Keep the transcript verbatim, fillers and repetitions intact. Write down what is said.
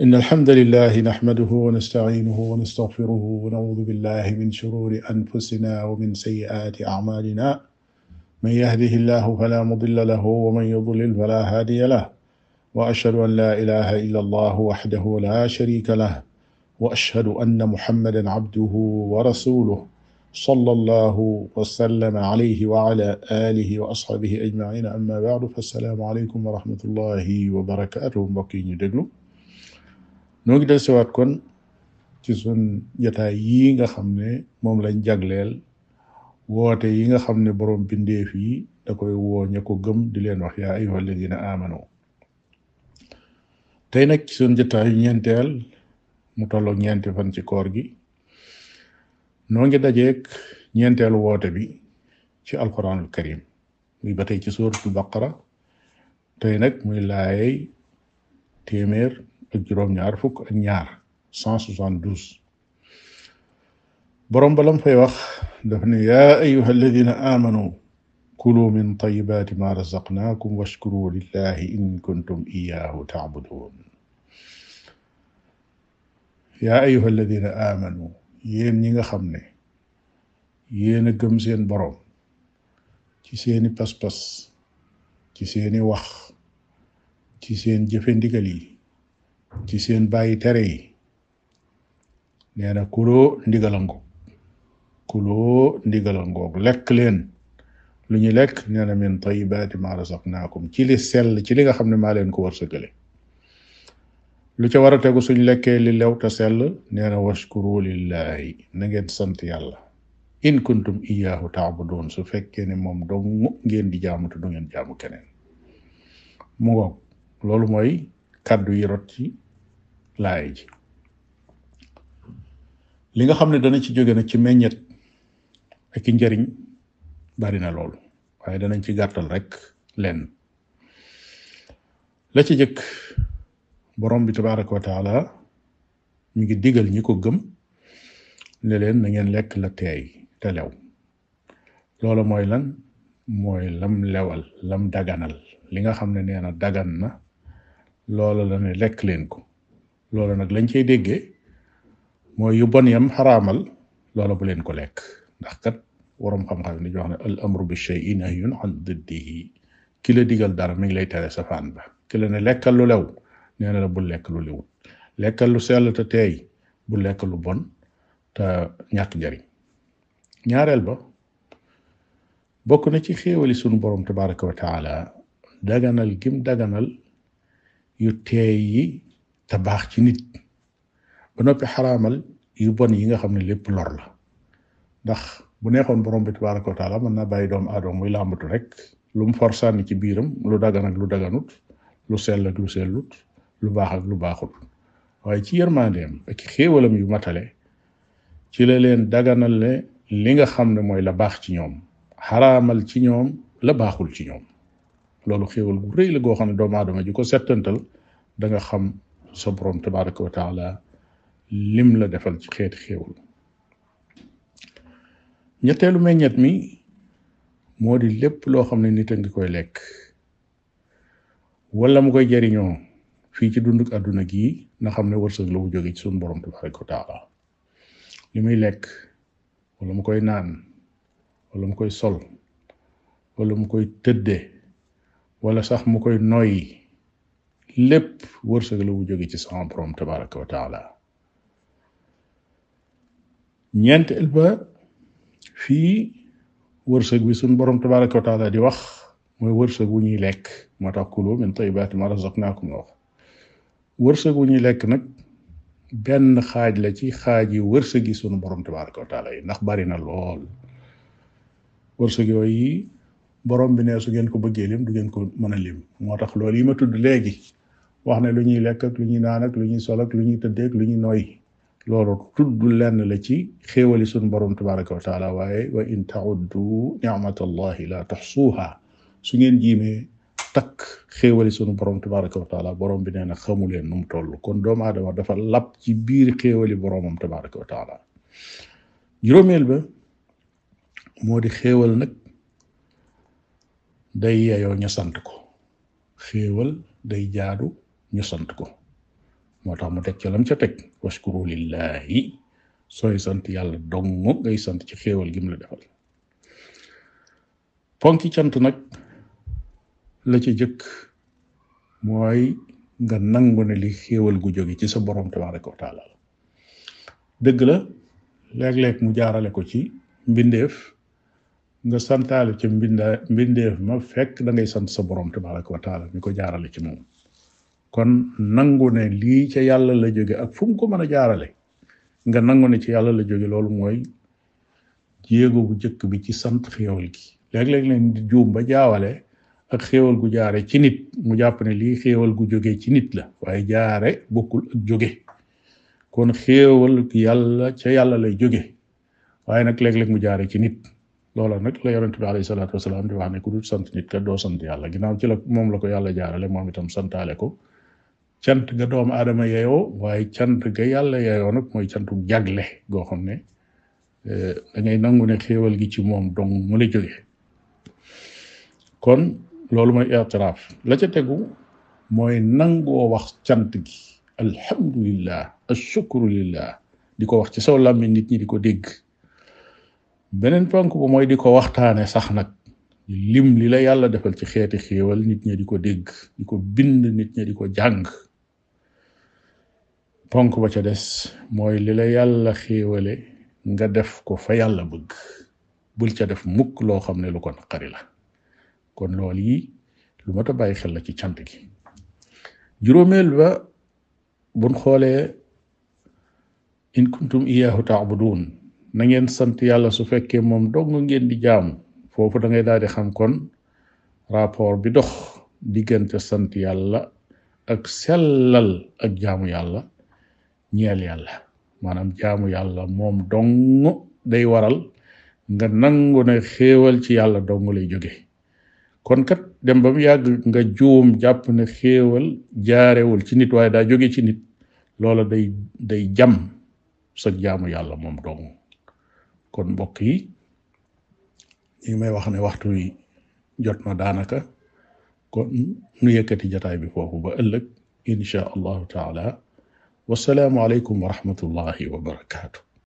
إن الحمد لله نحمده ونستعينه ونستغفره ونعوذ بالله من شرور أنفسنا ومن سيئات أعمالنا من يهده الله فلا مضل له ومن يضلل فلا هادي له وأشهد أن لا إله إلا الله وحده لا شريك له وأشهد أن محمدا عبده ورسوله صلى الله وسلم عليه وعلى آله وأصحابه أجمعين أما بعد فالسلام عليكم ورحمة الله وبركاته mbokk yi ñu déglu noo ngi del siwaat kon ci sun jataay yi nga xam ne moom lañ jagleel woote yi nga xam ne boroom bindeef yi da koy woo ña ko gëm di leen wax yaa ayyuha alladina amanu tey nag ci sun jataay ñeenteel mu tolloog ñeenti fan ci koor gi noo ngi dajeek ñeenteelu woote bi ci alquranul karim muy ba tey ci suratul baqara tey nag muy laayay téeméer ak juróom-ñaar fukk ak ñaar cent soixante-douze borom balam fay wax daf ne yaa ayuha alladina amanu kulu min tayibaati ma razaqnaakum washkuru lillahi in kuntum iyaahu taabudun yaa ayuha alladina amanu yéen ñi nga xam ne yéen a gëm seen borom ci seeni pas-pas ci seeni wax ci seen jëfe ndigal yi ci seen bàyyi tere yi nee na kuloo ndigalangoog kuloo ndigalangoog lekk leen lu ñu lekk nee na min tayibaati ma razaqnaakum ci li sell ci li nga xam ne maa leen ko wërsëgale lu ca war a tegu suñ lekkee li lew te sell nee na washkuru lillahi na ngeen sant yàlla in kuntum iyaahu taabudun su fekkee ne moom dong ngeen di jaamu te du ngeen jaamu keneen mu ngoog loolu mooy kàddu yi rot ci laay ji li nga xam ne dana ci jóge nag ci meññet ak i njariñ bari na loolu waaye danañ ci gàttal rek leen la ci jëkk borom bi tabaraka wa taala mi ngi digal ñi ko gëm ne leen na ngeen lekk la teey te lew loolu mooy lan mooy lam lewal lam daganal li nga xam ne nee na dagan na loolu la ne lekk leen ko loolu nag lañ cay déggee mooy yu bon yam xaraamal loolu bu leen ko lekk ndax kat waroom xam-xam ni wax ne al amru bi shay'in nahyun an diddihi ki la digal dara mi ngi lay tere safaan ba ki la ne lekkal lu lew nee na la bul lekk lu lewut lekkal lu sell te teey bul lekk lu bon te ñàkk njariñ ñaareel ba bokk na ci xéewali sunu borom tabaraka wa taala daganal gim daganal yu teey yi te baax ci nit ba noppi xaraamal yu bon yi nga xam ne lépp lor la ndax bu neexoon borom bi tabaraka wa taala mën naa bàyyi doomu aadama muy làmbatu rek lu mu for sànni ci biiram lu dagan ak lu daganut lu sell ak lu sellut lu baax ak lu baaxut waaye ci yërmandeem ak xéewalam yu matale ci la leen daganal ne li nga xam ne mooy la baax ci ñoom xaraamal ci ñoom la baaxul ci ñoom loolu xéewal gu rëy la goo xam ne doomu aadama ji ko settantal da nga xam sa borom tabaraka wa taala lim la defal ci xeeti xéewal ñetteelu meññet mi moo di lépp loo xam ne nit a ngi koy lekk wala mu koy jariñoo fii ci dunduk àdduna gii na xam ne wërsëg la wu jóge ci suñu borom tabaraka wa taala li muy lekk wala mu koy naan wala mu koy sol wala mu koy tëdde wala sax mu koy noyyi lépp wërsëg la wu jóge ci sama borom tabaraka wa taala ñeenteel ba fii wërsëg bi suñ borom tabaraka wa taala di wax mooy wërsëg wu ñuy lekk moo tax kulu min tayibaati ma razaqnaakum la wax wërsëg wu ñuy lekk nag benn xaaj la ci xaaj yi wërsëg yi sunu borom tabaraka wa taala yi ndax bari na lool wërsëg yooyu borom bi ne su ngeen ko bëggee lim du ngeen ko mën a lim moo tax loolu yi ma tudd léegi wax ne lu ñuy lekk ak lu ñuy naan ak lu ñuy sol ak lu ñuy tëddee ak lu ñuy nooy loolu tudd lenn la ci xéewali sunu borom tabaraka wa taala waaye wa in tauddu ni'matallahi la tuxsuha su ngeen jiimee takk xéewali sunu borom tabaraka wa taala borom bi nee na xamu leen nu mu toll kon doomu aadama dafa lap ci biir xéewali boromam tabaraka wa taala juróomeel ba moo di xéewal nag day yeyoo ñu sant ko xéewal day jaadu ñu sant ko moo tax mu teg ca lam ca teg washkuru lillahi sooy sant yàlla dong ngay sant ci xéewal gi mu la defal. ponki cant nag la ci jëkk mooy nga nangu ne li xéewal gu jóge ci sa borom tabaraka wa taala dëgg la léeg-léeg mu jaarale ko ci mbindeef nga santaale ca mbinda mbindeef ma fekk da ngay sant sa borom tabaraka wa taala mi ko jaarale ci moom. kon nangu ne lii ca yàlla la jóge ak fu mu ko mën a jaarale nga nangu ne ci yàlla la jóge loolu mooy jéego bu jëkk bi ci sant xéewal gi. léeg-léeg leen di juum ba jaawale ak xéewal gu jaare ci nit mu jàpp ne lii xéewal gu jóge ci nit la waaye jaare bokkul ak jóge. kon xéewal yàlla ca yàlla lay jóge waaye nag léeg-léeg mu jaare ci nit. loola nag la yonent bi alayhi salaatu wasalaam di wax ne ku dul sant nit ka doo sant yàlla ginnaaw ci la moom la ko yàlla jaarale moom itam santaale ko cant ga doomu aadama yeyoo waaye cant ga yàlla yeyoo nag mooy cantu jagle goo xam ne da ngay nangu ne xéewal gi ci moom dong mu la jóge. kon loolu mooy i'tiraaf la ca tegu mooy nangoo wax cant gi alhamdulillah ashukru lillah di ko wax ci saw làmmiñ nit ñi di ko dégg. beneen ponk bu mooy di ko waxtaane sax nag lim li la yàlla defal ci xeeti xéewal nit ñi di ko dégg di ko bind nit ñi di ko jàng. ponk ba ca des mooy li la yàlla xéewale nga def ko fa yàlla bëgg bul ca def mukk loo xam ne lu ko naqari la. kon loolu yi lu mat a bàyyi xel la ci cant gi. juróomeel ba buñ xoolee in kuntum iyaahu ta'budun na ngeen sant yàlla su fekkee moom dong ngeen di jaamu foofu da ngay daal di xam kon rapport bi dox diggante sant yàlla ak sellal ak jaamu yàlla ñeel yàlla maanaam jaamu yàlla moom dong day waral nga nangu ne xéewal ci yàlla dong lay jóge. kon kat dem ba mu yàgg nga juum jàpp ne xéewal jaarewul ci nit waaye daa jóge ci nit loola day day jam sa jaamu yàlla moom dong. kon mbokk yi ñu may wax ne waxtu wi jot na daanaka kon nu yëkkati jataay bi foofu ba ëllëg insha allahu taala wasalaamu aleykum wa rahmatullahi wa barakaatu.